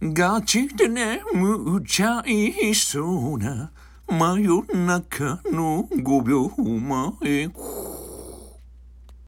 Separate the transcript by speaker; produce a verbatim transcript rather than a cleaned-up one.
Speaker 1: ガチで眠っちゃいそうな真夜中のごびょうまえ